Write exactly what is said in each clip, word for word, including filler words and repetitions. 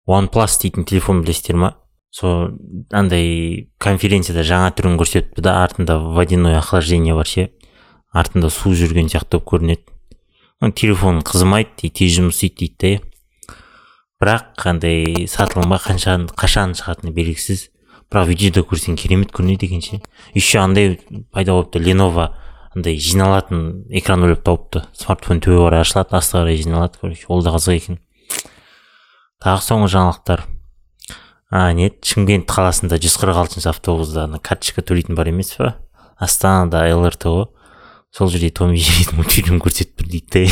OnePlus дейтін телефон білесіздер ма? Сол андай конференцияда жаңа түрін көрсетті да, артында водяной охлаждение бар ше, артында су жүрген сияқты болып көрінеді. Телефон қызымайды, тез жұмыс істейді дейді да. Бірақ қандай сатылымға қашан қашан шығатыны белгісіз. Бірақ видеода көрсең керемет көрінеді екен ше. Еще андай пайда болыпты, Lenovo андай жиналатын экран ойлап тауыпты. Смартфон төбе қарай ашылады, астына қарай жиналады, короче, ол да қызық екен. Тағы соңғы жаңалықтар. А, нет, Шымкент қаласында жүз қырық алтыншы автобуста карточка төлейтін бар емес па? Астанада эл эр тэ ғой. Сол жерде Том и Джерри мультфильм көрсетіп тұр дейді.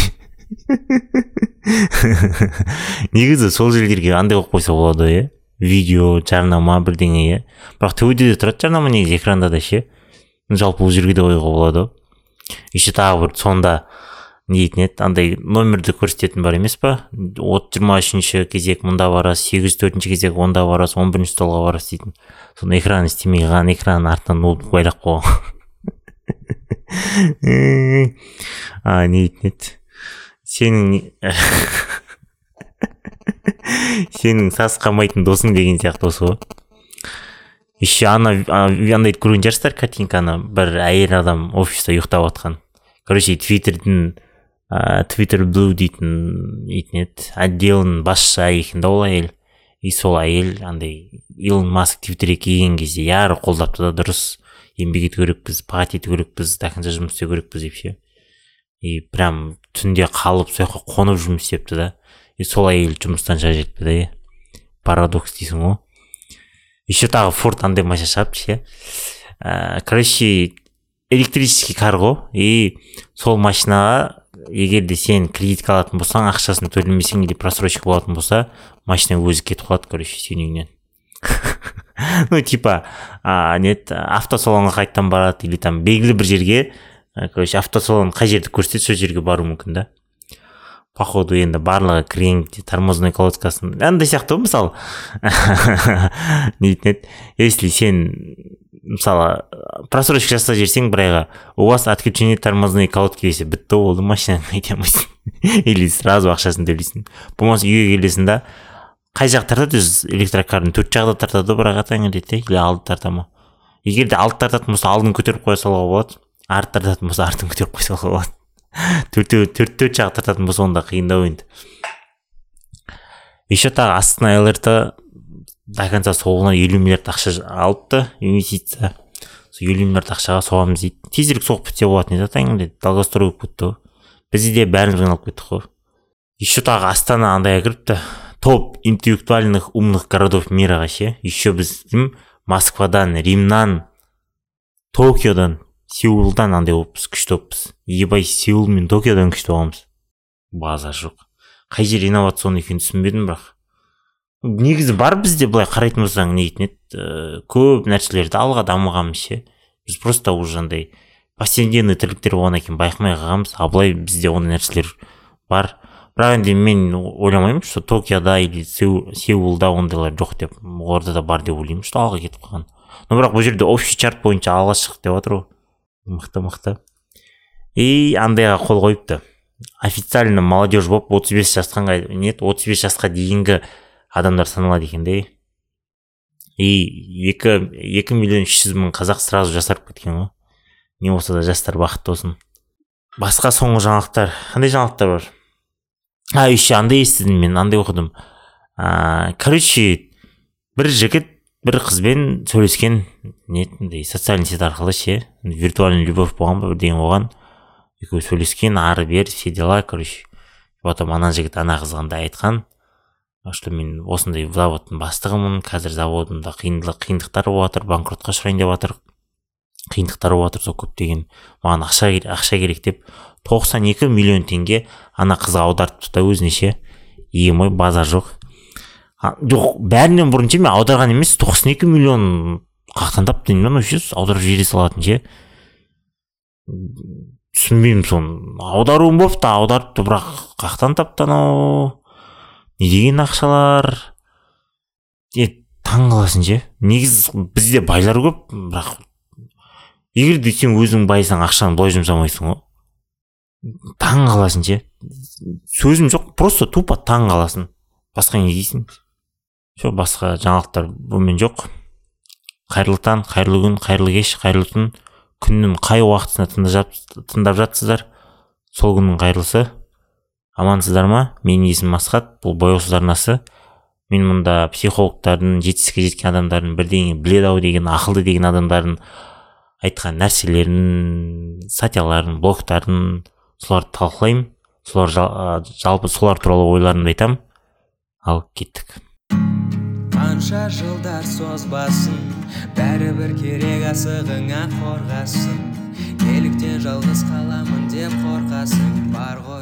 Негізі сол жерлерге андай қойып қойса болады, иә? Видео, жарнама бірдеңе, иә? Бірақ төбеде де тұрады жарнама, негізі экранда да ше. Жалпы бұл жерге де қоюға болады. Еще тағы бір сонда не дейтін еді, андай номерді көрсететін бар емес па? жиырма үшінші кезек мұнда барасыз, сегіз жүз төртінші кезек онда барасыз, он бірінші столға барасыз дейтін. Соны экран істемей қалған, экран артынан ноутбук байлап қойған. А, не дейтін еді. Сенің сенің сас қамайтын досың деген сияқты осы ғой. Еще ана андай көрген жарсыздар картинканы, бір әйел адам офиста ұйықтап отқан. Короче, Твиттердің Twitter Blue дейтін дейтін еді, отделінің басшысы екен да ол әйел. И сол әйел андай Илон Маск Твиттерге келген кезде яры қолдапты да, дұрыс еңбек ету керекпіз, пағат ету керекпіз, тақынша жұмыс істеу керекпіз деп ше. И прям түнде қалып сол жаққа қонып жұмыс істепті да. И сол әйел жұмыстан шыға жетті да. Парадокс дейсің ғой. Еще тағы Форд андай машина шығарыпты ше. Короче, электрический кар ғой. И сол машинаға егер де сен кредитка алатын болсаң, ақшасын төлемесең или просрочка болатын болса, машина өзі кетіп қалады, короче, сенің үйінен. Ну, типа, нет, автосалонға қайттан барады, или там белгілі бір жерге, короче, автосалон қай жерді көрсетеді, сол жерге бару мүмкін да. Походу, енді барлығы кірген тормозной колодкасын, андай сияқты ғой, мысалы. Не дейтін еді, если сен, мысалы, просрочка жасап жерсең бір айға, у вас отключение тормозной колодки десе, бітті болды, машинаны қайта алмайсың. Или сразу ақшасын төлейсің. Болмаса үйге келесің да, қай жақ тартады өз электрокарын, төрт жағда тартады, бірақ атаңа дейді, или алды тарта ма. Егер де алды тартатын болса, алдын көтеріп қоя салуға болады, арты тартатын болса, артын көтеріп қоя салуға болады. Төрт төрт жақ тартатын болса, онда қиындау енді. Еще тағы астына эл эр тэ до конца соғына елу миллиард ақша алыпты, инвестиция. Сол елу миллиард ақшаға соғамыз дейді. Тезірек соғып бітсе болады не затайын дейді. Долгострой болып кетті ғой. Бізде де бәрін жиналып кеттік қой. Еще тағы Астана андайға кіріпті. Топ интеллектуальных умных городов мираға ше. Еще біз Москвадан, Римнан, Токиодан, Сеулдан андай болыппыз, күшті болыппыз. Ебай, Сеул мен Токиодан күшті болғанбыз. Базар жоқ. Қай жер инновацион екенін түсінбедім, бірақ. Негізі бар бізде былай қарайтын болсаң не дейтін еді, көп нәрселерді алға дамығанбыз ше. Біз просто уже андай повседневный тірліктер болғаннан кейін байқамай қалғанбыз. А былай бізде ондай нәрселер бар. Бірақ енді мен ойламаймын, что Токиода или Сеулда ондайлар жоқ деп, орда да бар деп ойлаймын, что алға кетіп қалған. Но бірақ бұл жерде общий чарт бойынша алға шық деп отыр ғой. Мықты мықты. И андайға қол қойыпты. Официально молодежь болып отыз бес жасқа нет, отыз бес жасқа дейінгі адамдар саналады екен де. И екі миллион үш жүз мың қазақ сразу жасарып кеткен ғой. Не болса да жастар бақытты болсын. Басқа соңғы жаңалықтар. Қандай жаңалықтар бар? А, еще андай естідім мен, андай оқыдым. Короче, бір жігіт бір қызбен сөйлескен, нетіндей социальный сет арқылы ше, виртуальный любовь болған ба бірдеңе болған. Екеуі сөйлескен, ары бер, все дела, короче. Потом ана жігіт ана қызғанда айтқан, что мен осындай заводтың бастығымын, қазір заводымда қиындықтар болып жатыр, банкротқа ұшырайын деп жатыр, қиындықтар болып жатыр, сол көптеген маған ақша ақша керек деп тоқсан екі миллион теңге ана қызға аудартыпты да өзіне ше. Ем ой, базар жоқ. Жоқ, бәрінен бұрын ше, мен аударған емес, тоқсан екі миллион қақтан тапты, мен вообще аударып жібере салатын ше. Түсінбеймін соны. Аударуым болыпты, аударыпты, бірақ қақтан тапты анау. Не деген ақшалар? Е, таң қаласың ше. Негіз бізде байлар көп, бірақ егер де сен өзің байсаң, ақшаны былай жұмсамайсың ғой. Таң қаласың ше. Сөзім жоқ, просто тупо таң қаласың. Басқа не дейсің? Все, басқа жаңалықтар бұмен жоқ. Қайырлы таң, қайырлы күн, қайырлы кеш, қайырлы түн. Күннің қай уақытысына тыңдап жатсыздар, сол күннің қайырлысы. Амансыздар ма? Менің есімім Асхат, бұл бояусыз арнасы. Мен мұнда психологтардың, жетістікке жеткен адамдардың, бірдеңе біледі-ау деген, ақылды деген адамдардың айтқан нәрселерін, статьяларын, блогтарын, соларды талқылаймын. Солар жалпы солар туралы ойларымды айтамын. Ал кеттік. Қанша жылдар созбасын, бәрібір керек асығыңа қорғасын. Неліктен жалғыз қаламын деп қорқасың? Бар ғой,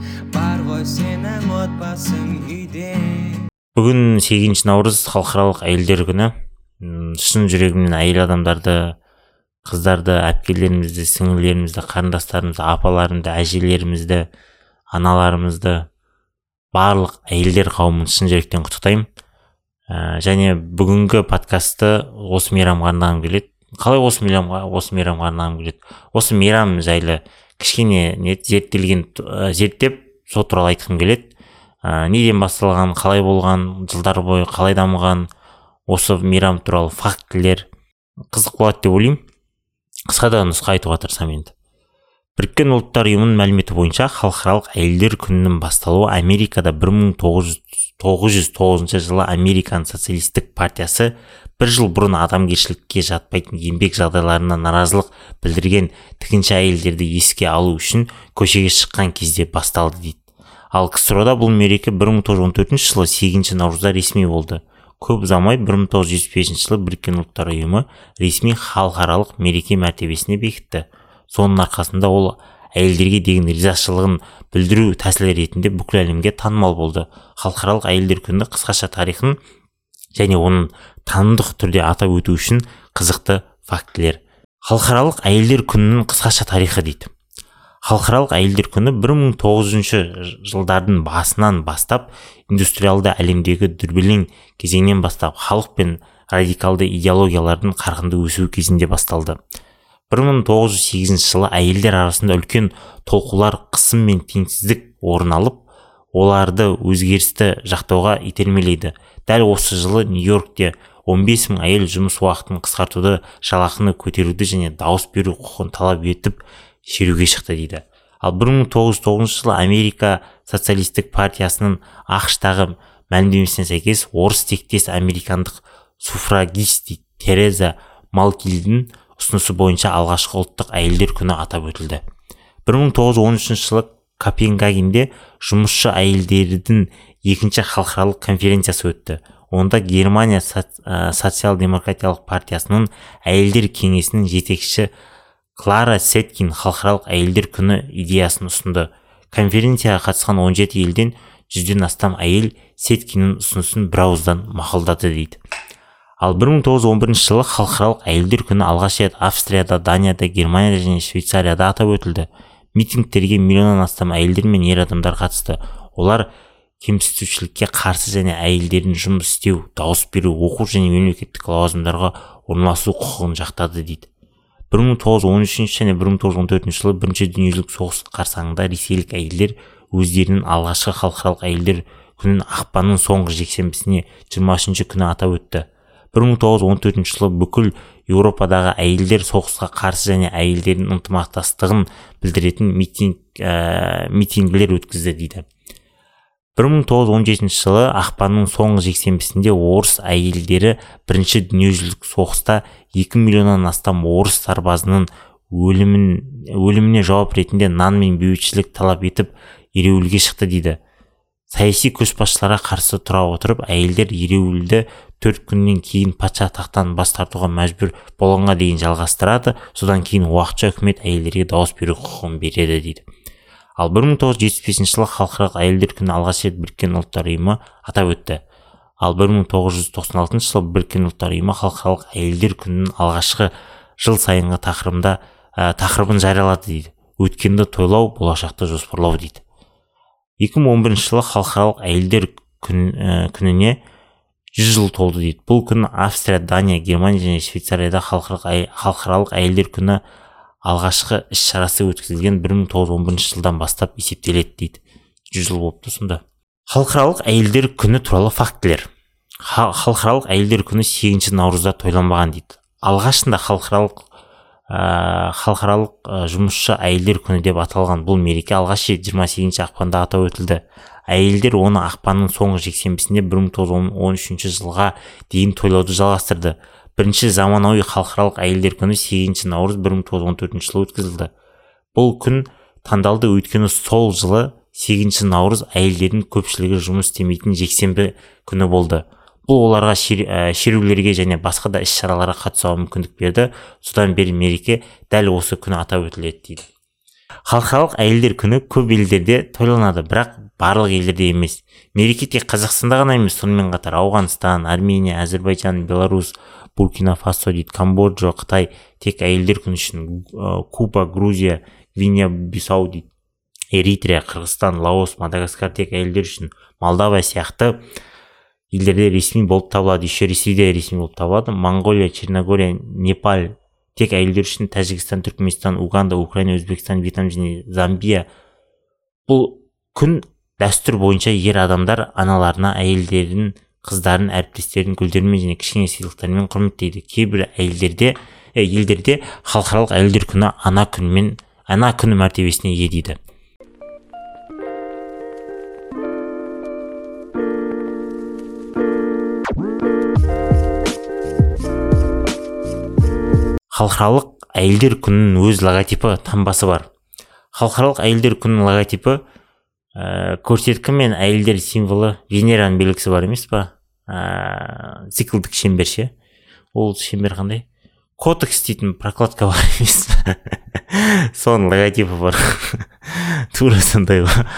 бар ғой сенің отбасың үйде. Бүгін сегізінші наурыз, халықаралық әйелдер күні. Шын жүрегімнен әйел адамдарды, қыздарды, әпкелерімізді, сіңлілерімізді, қарындастарымызды, апаларымызды, әжелерімізді, аналарымызды, барлық әйелдер қауымын шын жүректен құттықтаймын. Ә, және бүгінгі подкастты осы мейрамға арнағым келеді. Қалай осы мейрамға, осы мейрамға арнағым келеді? Осы мейрам жайлы кішкене не зерттелген, зерттеп, сол туралы айтқым келеді. Ә, неден басталған, қалай болған, жылдар бойы қалай дамыған, осы мейрам туралы фактілер қызық болады деп ойлаймын. Қысқада нұсқа айтуға тырысамын енді. Біріккен ұлттар ұйымының мәліметі бойынша халықаралық әйелдер күнінің басталуы Америкада бір мың тоғыз жүз тоғызыншы жылы Американ социалистік партиясы бір жыл бұрын адамгершілікке жатпайтын еңбек жағдайларына наразылық білдірген тігінші әйелдерді еске алу үшін көшеге шыққан кезде басталды дейді. Ал КСРОда бұл мереке бір мың тоғыз жүз он төртінші жылы сегізінші наурызда ресми болды. Көп ұзамай бір мың тоғыз жүз жетпіс бесінші жылы Біріккен ұлттар ұйымы ресми халықаралық мереке мәртебесіне бекітті. Соның арқасында ол әйелдерге деген ризашылығын білдіру тәсілі ретінде бүкіл әлемге танымал болды. Халықаралық әйелдер күні қысқаша тарихын және оның танымдық түрде атап өту үшін қызықты фактілер. Халықаралық әйелдер күнінің қысқаша тарихы дейді. Халықаралық әйелдер күні бір мың тоғыз жүзінші жылдардың басынан бастап индустриалды әлемдегі дүрбелең кезеңнен бастап халық пен радикалды идеологиялардың қарқынды өсуі кезінде басталды. бір мың тоғыз жүз сегізінші жылы әйелдер арасында үлкен толқулар, қысым мен теңсіздік орын алып, оларды өзгерісті жақтауға итермелейді. Дәл осы жылы Нью-Йоркте он бес мың әйел жұмыс уақытын қысқартуды, жалақыны көтеруді және дауыс беру құқығын талап етіп шеруге шықты дейді. Ал бір мың тоғыз жүз тоғызыншы жылы Америка социалистік партиясының ақш-тағы мәлімдемесіне сәйкес орыс тектес американдық суфрагист Тереза Малкильдің ұсынысы бойынша алғашқы ұлттық әйелдер күні атап өтілді. бір мың тоғыз жүз он үшінші жылы Копенгагенде жұмысшы әйелдердің екінші халықаралық конференциясы өтті. Онда Германия социал-демократиялық партиясының әйелдер кеңесінің жетекшісі Клара Сеткин халықаралық әйелдер күні идеясын ұсынды. Конференцияға қатысқан он жеті елден жүзден астам әйел Сеткиннің ұсынысын бірауыздан мақұлдады дейді. Ал бір мың тоғыз жүз он бірінші жылы халықаралық әйелдер күні алғаш рет Австрияда, Данияда, Германияда және Швейцарияда атап өтілді. Митингтерге миллионнан астам әйелдер мен ер адамдар қатысты. Олар кемсітушілікке қарсы және әйелдердің жұмыс істеу, дауыс беру, оқу және мемлекеттік лауазымдарға орналасу құқығын жақтады дейді. бір мың тоғыз жүз он үшінші және бір мың тоғыз жүз он төртінші жылы бірінші дүниежүзілік соғыс қарсаңында ресейлік әйелдер өздерінің алғашқы халықаралық әйелдер күнін ақпанның соңғы жексенбісіне жиырма үшінші күні атап өтті. бір мың тоғыз жүз он төртінші жылы бүкіл Еуропадағы әйелдер соғысқа қарсы және әйелдердің ынтымақтастығын білдіретін митинг, ә, митингілер өткізді дейді. бір мың тоғыз жүз он жетінші жылы ақпанның соңғы жексенбісінде орыс әйелдері бірінші дүниежүзілік соғыста екі миллионнан астам орыс сарбазының өлімін, өліміне жауап ретінде нан мен бейбітшілік талап етіп ереуілге шықты дейді. Саяси көшбасшыларға қарсы тұра отырып, әйелдер ереуілді төрт күннен кейін патша тақтан бас тартуға мәжбүр болғанға дейін жалғастырады. Содан кейін уақытша үкімет әйелдерге дауыс беру құқығын береді дейді. Ал бір мың тоғыз жүз жетпіс бесінші жылы халықаралық әйелдер күні алғаш рет Біріккен ұлттар ұйымы атап өтті. Ал бір мың тоғыз жүз тоқсан алтыншы жылы Біріккен ұлттар ұйымы халықаралық әйелдер күнінің алғашқы жыл сайынғы тақырыбында ә, тақырыбын жариялады дейді. Өткенді тойлау, болашақты жоспарлау дейді. екі мың он бірінші жылы халықаралық әйелдер күн, ә, күніне жүз жыл толды дейді. Бұл күн Австрия, Дания, Германия және Швейцарияда халықаралық әйелдер күні алғашқы іс-шарасы өткізілген бір мың тоғыз жүз он бірінші жылдан бастап есептеледі дейді. жүз жыл болыпты сонда. Халықаралық әйелдер күні туралы фактілер. халықаралық әйелдер күні сегізінші наурызда тойланбаған дейді. Алғашында халықаралық ә, халықаралық ә, жұмысшы әйелдер күні деп аталған бұл мереке алғаш рет жиырма сегізінші ақпанда атап өтілді. Әйелдер оны ақпанның соңғы жексенбісінде бір мың тоғыз жүз он үшінші жылға дейін тойлауды жалғастырды. Бірінші заманауи халықаралық әйелдер күні сегізінші наурыз бір мың тоғыз жүз он төртінші жылы өткізілді. Бұл күн таңдалды өйткені сол жылы сегізінші наурыз әйелдердің көпшілігі жұмыс істемейтін жексенбі күні болды. Бұл оларға шерулерге және басқа да іс-шараларға қатысуға мүмкіндік берді. Содан бері мереке дәл осы күні атап өтіледі дейді. Халықаралық әйелдер күні көп елдерде тойланады, бірақ барлық елдерде емес. Мереке тек Қазақстанда ғана емес, сонымен қатар Ауғанстан, Армения, Әзербайжан, Беларусь, Буркина Фасо дейді, Камбоджа, Қытай тек әйелдер күні үшін, Куба, Грузия, Гвинея Бисау дейді, Эритрия, Қырғызстан, Лаос, Мадагаскар тек әйелдер үшін, Молдова сияқты елдерде ресми болып табылады. Еще Ресейде ресми болып табылады. Монголия, Черногория, Непал тек әйелдер үшін, Тәжікстан, Түркменстан, Уганда, Украина, Өзбекстан, Вьетнам және Замбия. Бұл күн дәстүр бойынша ер адамдар аналарына әйелдерін, қыздарын, әріптестерін гүлдермен және кішкене сыйлықтармен құрметтейді. Кейбір әйелдерде ә, елдерде халықаралық әйелдер күні ана күнімен ана күні мәртебесіне ие дейді. Халықаралық әйелдер күнінің өз логотипі, таңбасы бар. Халықаралық әйелдер күнінің логотипі ә, көрсеткі мен әйелдер символы Венераның белгісі бар емес па? Ә, циклдік шеңбер ше. Ол шеңбер қандай? Котекс дейтін прокладка бар емес. Соның логотипі бар. Тура сондай ғой.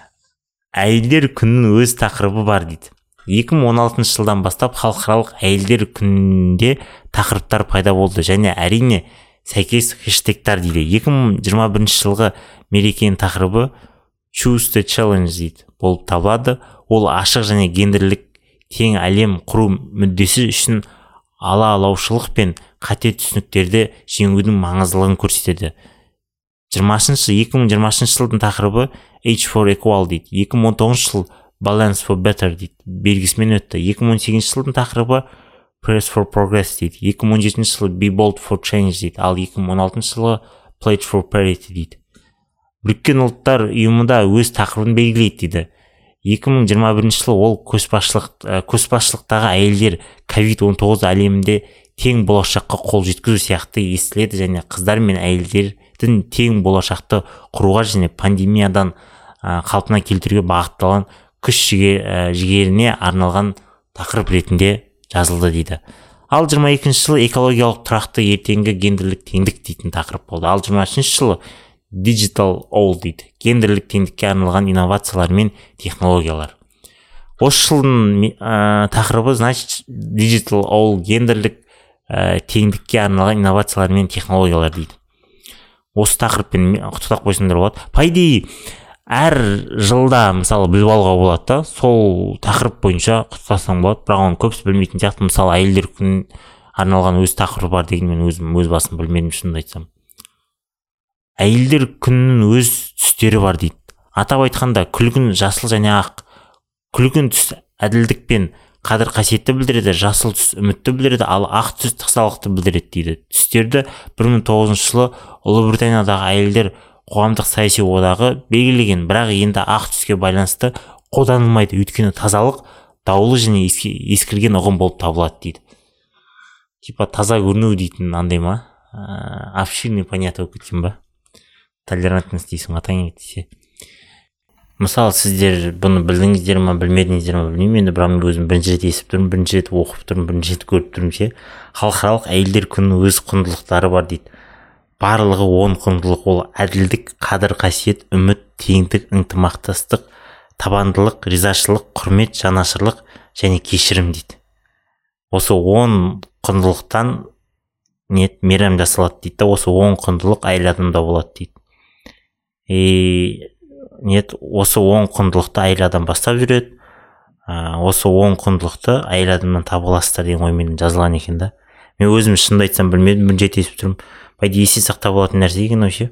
Әйелдер күнінің өз тақырыбы бар дейді. екі мың он алтыншы жылдан бастап халықаралық әйелдер күнінде тақырыптар пайда болды және әрине сәйкес хэштегтар дейді. екі мың жиырма бірінші жылғы мерекенің тақырыбы Choose the Challenge дейді болып табылады. Ол ашық және гендерлік тең әлем құру мүддесі үшін ала алаушылық пен қате түсініктерді жеңудің маңыздылығын көрсетеді. жиырмасыншы екі мың жиырмасыншы жылдың тақырыбы Age for Equal дейді. екі мың он тоғызыншы жыл Balance for Better дейді, белгісімен өтті. екі мың он сегізінші жылдың тақырыбы Press for Progress дейді. екі мың он жетінші жылы Be Bold for Change дейді. Ал екі мың он алтыншы жылы Pledge for Parity дейді. Біріккен ұлттар ұйымында өз тақырыбын белгілейді дейді. екі мың жиырма бірінші жылы ол көшбасшылық, көшбасшылықтағы әйелдер ковид он тоғыз әлемінде тең болашаққа қол жеткізу сияқты естіледі және қыздар мен әйелдердің тең болашақты құруға және пандемиядан қалпына келтіруге бағытталған күш жігеріне арналған тақырып ретінде жазылды дейді. Ал жиырма екінші жылы экологиялық тұрақты ертеңгі гендерлік теңдік дейтін тақырып болды. Ал жиырма үшінші жылы Digital All дейді, гендерлік теңдікке арналған инновациялар мен технологиялар. Осы жылдың ә, тақырыбы значит Digital All, гендерлік ә, теңдікке арналған инновациялар мен технологиялар дейді. Осы тақырыппен құттықтап қойсаңдар болады. По идее әр жылда мысалы біліп алуға болады да, сол тақырып бойынша құттықтасаң болады, бірақ оны көбісі білмейтін сияқты. Мысалы әйелдер күніне арналған өз тақырыбы бар деген мен өзім өз басым білмедім, шынымды айтсам. Әйелдер күнінің өз түстері бар дейді. Атап айтқанда күлгін жасыл және ақ. Күлгін түс әділдік пен қадір қасиетті білдіреді, жасыл түс үмітті білдіреді, ал ақ түс тықсалықты білдіреді дейді. Түстерді бір мың тоғызыншы жылы Ұлыбританиядағы әйелдер қоғамдық саяси одағы белгілеген, бірақ енді ақ түске байланысты қолданылмайды, өйткені тазалық даулы және ескірген ұғым болып табылады дейді. Типа таза көріну дейтін андай ма? Обширный понятие болып кеткен ба? Толерантность дейсің, атаң етсе. Мысалы, сіздер бұны білдіңіздер ма, білмедіңіздер ма білмеймін, енді бірақ мен өзім бірінші рет естіп тұрмын, бірінші рет оқып тұрмын, бірінші рет көріп тұрмын ше. Халықаралық әйелдер күнінің өз құндылықтары бар дейді. Барлығы он құндылық, ол әділдік, қадір қасиет, үміт, теңдік, ынтымақтастық, табандылық, ризашылық, құрмет, жанашырлық және кешірім дейді. Осы он құндылықтан нет мейрам жасалады дейді. Осы он құндылық әйел адамда болады дейді. И нет, осы он құндылықты әйел адам бастап жүреді. Осы он құндылықты әйел адамнан таба аласыздар деген оймен жазылған екен да. Мен өзім шынымды айтсам білмедім, бірінші рет естіп тұрмын. Пайда есте сақтап алатын нәрсе екен вообще.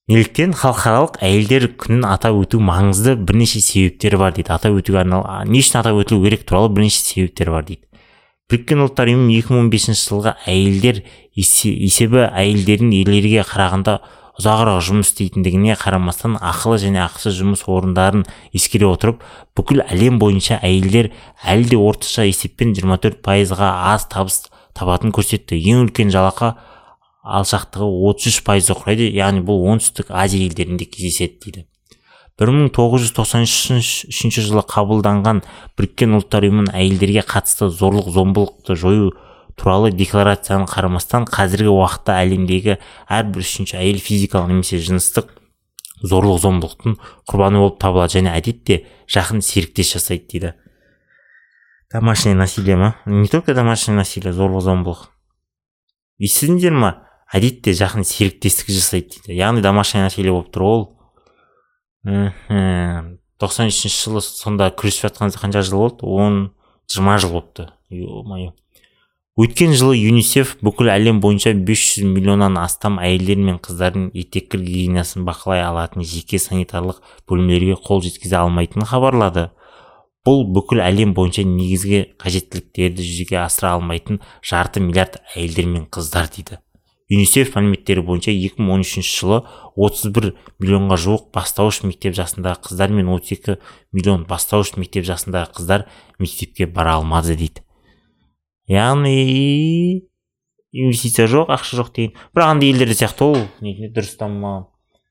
Неліктен халықаралық әйелдер күнін атап өту маңызды, бірнеше себептері бар дейді. Атап өтуге арналған, не үшін атап өтілу керек туралы бірнеше себептер бар дейді. Біріккен ұлттар ұйымы екі мың он бесінші жылғы әйелдер есебі әйелдердің ерлерге қарағанда ұзағырақ жұмыс істейтіндігіне қарамастан ақылы және ақысыз жұмыс орындарын ескере отырып, бүкіл әлем бойынша әйелдер әлі де орташа есеппен жиырма төрт пайызға аз табыс табатын көрсетті. Ең үлкен жалақы алшақтығы отыз үш пайызды құрайды, яғни бұл оңтүстік Азия елдерінде кездеседі дейді. бір мың тоғыз жүз тоқсан үшінші жылы қабылданған Біріккен ұлттар ұйымының әйелдерге қатысты зорлық-зомбылықты жою туралы декларацияның қарамастан, қазіргі уақытта әлемдегі әрбір үшінші әйел физикалық немесе жыныстық зорлық-зомбылықтың құрбаны болып табылады және әдетте жақын серіктес жасайды дейді. Домашнее насилие ма? Не только домашнее насилие, зорлық-зомбылық. Естідіңдер ма? Әдетте жақын серіктестік жасайды дейді. Яғни домашнее насилие болып тұр ол. тоқсан үшінші жылы сонда күресіп жатқанымызда қанша жыл болды? он жиырма жыл болыпты. Ё-моё. Өткен жылы ЮНИСЕФ бүкіл әлем бойынша бес жүз миллионнан астам әйелдер мен қыздардың етек гигиенасын бақылай алатын жеке санитарлық бөлімдерге қол жеткізе алмайтынын хабарлады. Бұл бүкіл әлем бойынша негізгі қажеттіліктерді жүзеге асыра алмайтын жарты миллиард әйелдер мен қыздар дейді. ЮНИСЕФ мәліметтері бойынша екі мың он үшінші жылы отыз бір миллионға жуық бастауыш мектеп жасындағы қыздар мен отыз екі миллион бастауыш мектеп жасындағы қыздар мектепке бара алмады дейді. Яғни инвестиция жоқ, ақша жоқ деген. Бірақ андай елдерде сияқты ол не дұрыс дамымаған.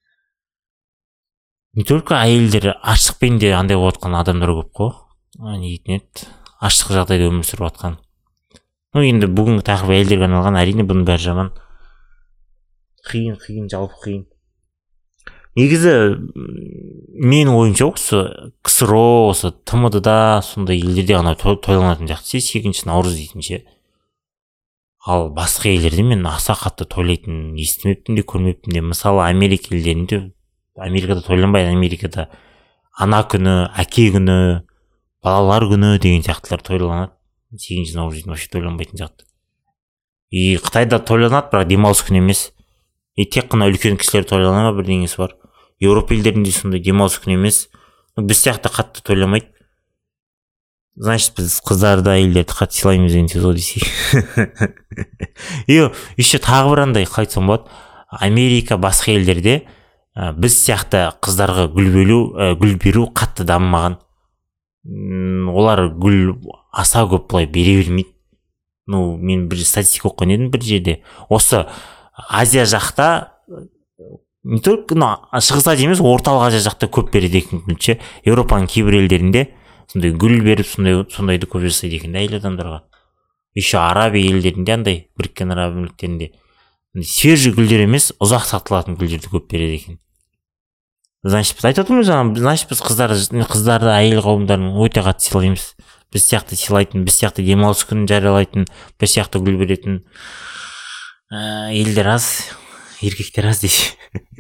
Не только әйелдер аштықпен де андай болып жатқан адамдар көп қой. Не дейтін еді, аштық жағдайда өмір сүріп жатқан. Ну енді бүгінгі тақырып әйелдерге арналған, әрине бұның бәрі жаман. Қиын, қиын, жалпы қиын. Негізі менің ойымша осы КСРО, осы ТМД-да сондай елдерде ғана тойланатын сияқты, сегізінші наурыз дейтін ше. Ал басқа елдерде мен аса қатты тойлайтын естімеппін де, көрмеппін де. Мысалы Америка елдерінде, Америкада тойланбайды, Америкада ана күні, әке күні, балалар күні деген сияқтылар тойланады. сегізінші наурыз дейтін вообще тойланбайтын сияқты. И Қытайда тойланады, бірақ демалыс күні емес. И тек қана үлкен кісілер тойлана ма бірдеңесі бар. Еуропа елдерінде сондай демалыс күні емес. Біз сияқты қатты тойламайды. Значит, біз қыздарды, әйелдерді қатты сыйлаймыз деген сөз ғой десей. И еще тағы бір андай қалай айтсам болады. Америка басқа елдерде біз сияқты қыздарға гүл беру, гүл беру қатты дамымаған. Олар гүл аса көп былай бере бермейді. Ну, мен бір статистика оқыған едім бір жерде. Осы Азия жақта не только Шығыс Азия емес, орталық Азия жақта көп береді екен гүлше. Еуропаның кейбір елдерінде сондай гүл беріп, сондай сондайды көп жасайды екен әйел адамдарға. Еще Арабия елдерінде андай, Біріккен Араб Әмірліктерінде свежий гүлдер емес, ұзақ сақталатын гүлдерді көп береді екен. Значит, біз айтып отырмыз жаңа, значит, біз қыздарды, қыздарды, әйел қауымдарын өте қатты сыйлаймыз. Біз сияқты сыйлайтын, біз сияқты демалыс күнін жариялайтын, біз сияқты гүл беретін елдер аз, еркектер аз десе.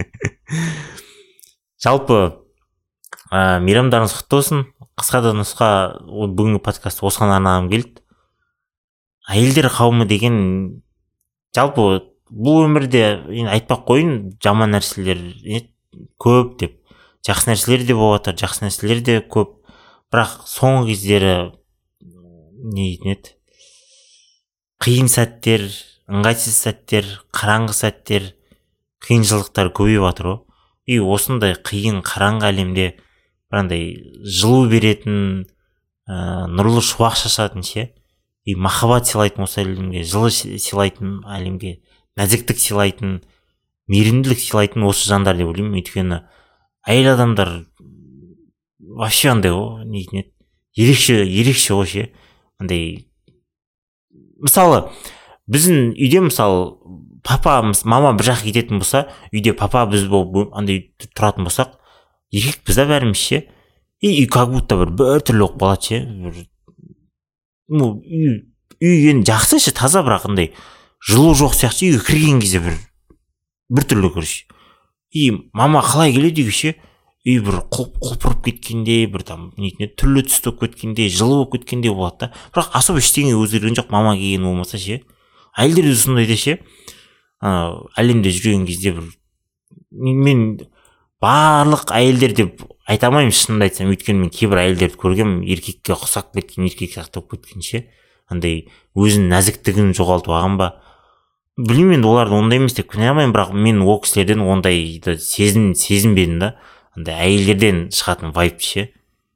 Жалпы мейрамдарыңыз құтты болсын. Қысқа да нұсқа бүгінгі подкастты осыған арнағым келді. Әйелдер қауымы деген жалпы бұл өмірде айтпақ қойын, жаман нәрселер көп деп, жақсы нәрселер де болып жатыр, жақсы нәрселер де көп. Бірақ соңғы кездері не дейтін еді, қиын сәттер, ыңғайсыз сәттер, қараңғы сәттер, қиыншылықтар көбейіп жатыр ғой. И осындай қиын қараңғы әлемде бірандай жылу беретін, нұрлы шуақ шашатын ше, и махаббат сыйлайтын осы әлемге, жылы сыйлайтын әлемге, нәзіктік сыйлайтын, мейірімділік сыйлайтын осы жандар деп ойлаймын. Өйткені әйел адамдар вообще андай ғой, не дейтін еді, ерекше, ерекше ғой ше. Андай мысалы біздің үйде мысалы папа, мама бір жаққа кететін болса, үйде папа біз болып андай тұратын болсақ, еркек біз де бәріміз ше, и как будто бір бір түрлі оқып қалады ше. Ну үй үй енді жақсы ше, таза, бірақ андай жылу жоқ сияқты. Үйге кірген кезде бір бір түрлі көріш. И мама қалай келеді үйге ше, үй бір құлпырып кеткенде, бір там нетіне түрлі түсті болып кеткенде, жылы болып кеткенде болады да. Бірақ особо ештеңе өзгерген жоқ, мама келген болмаса ше. Әйелдер де сондай да ше. Әлемде жүрген кезде бір мен барлық әйелдер деп айта алмаймын шынымды айтсам, өйткені мен кейбір әйелдерді көргем, еркекке ұқсап кеткен, еркек сияқты болып кеткенше, андай өзінің нәзіктігін жоғалтып алған ба, білмеймін. Енді оларды ондай емес деп кінәламаймын, бірақ мен ол кісілерден ондайды сезін сезінбедім да, андай әйелдерден шығатын вайб ше.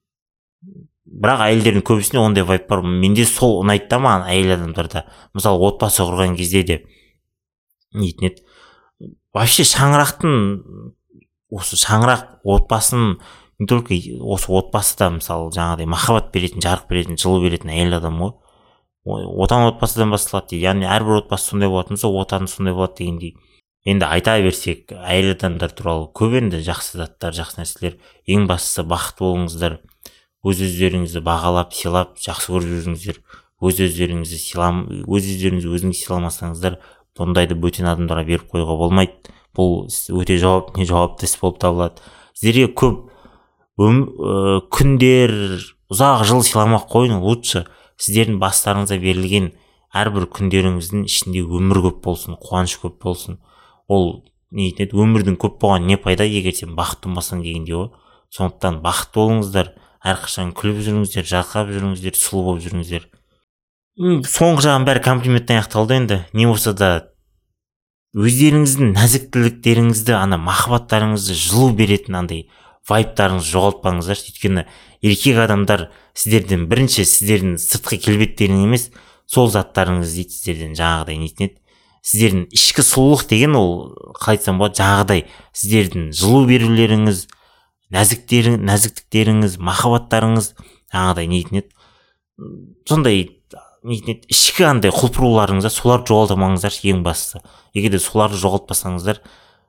Бірақ әйелдердің көбісінде ондай вайб бар. Менде сол ұнайды да маған әйел адамдарда. Мысалы отбасы құрған кезде де нетін еді. Вообще шаңырақтың, осы шаңырақ отбасын, не только осы отбасыда мысалы жаңағыдай махаббат беретін, жарық беретін, жылу беретін әйел адам ғой. Отан отбасыдан басталады дейді. Яғни әрбір отбасы сондай болатын болса, отаны сондай болады дегендей. Енді айта берсек, әйел адамдар туралы көп енді жақсы заттар, жақсы нәрселер. Ең бастысы бақытты болыңыздар. Өз-өздеріңізді бағалап, сыйлап, жақсы көріп жүріңіздер. Өз-өздеріңізді сыйлам, өз-өздеріңізді өзіңіз сыйламасаңыздар, бұндайды бөтен адамдарға беріп қоюға болмайды. Бұл өте жауап, не жауапты іс болып табылады. Сіздерге көп өм, ә, күндер, ұзақ жыл сыйламақ қойын, лучше сіздердің бастарыңызға берілген әрбір күндеріңіздің ішінде өмір көп болсын, қуаныш көп болсын. Ол не етеді, өмірдің көп болған не пайда, егер сен бақытты болмасаң дегенде ғой. Сондықтан бақытты болыңыздар, әрқашан күліп жүріңіздер, жарқырап жүріңіздер, сұлу болып жүріңіздер. Соңғы жағын бәрі комплименттен аяқталды. Енді не болса да өздеріңіздің нәзіктіліктеріңізді, ана махаббаттарыңызды жылу беретін андай вайптарыңызды жоғалтпаңыздар. Өйткені еркек адамдар сіздерден бірінші сіздердің сыртқы келбеттерің емес, сол заттарыңыз дейді сіздерден жаңағыдай нетін еді. Сіздердің ішкі сұлулық деген ол қалай айтсам болады, жаңағыдай сіздердің жылу берулеріңіз, нәзіктерің, нәзіктіктеріңіз, махаббаттарыңыз жаңағыдай нетін еді. Сондай нетін еді, ішкі андай құлпыруларыңызда соларды жоғалтамаңыздар ең бастысы. Егер де соларды жоғалтпасаңыздар,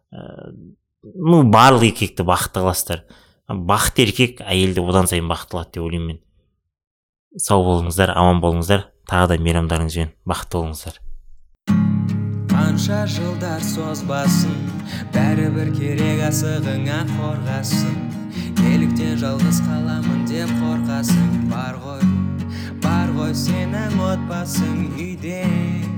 ну барлық еркекті бақытты қыласыздар. Бақытты еркек әйелді одан сайын бақытты қылады деп ойлаймын мен. Сау болыңыздар, аман болыңыздар. Тағы да мейрамдарыңызбен бақытты болыңыздар. Қанша жылдар созбасын, бәрібір керек асығыңа қорғасын. Неліктен жалғыз қаламын деп қорқасың? Бар ғой, бар ғой сенің отбасың үйде.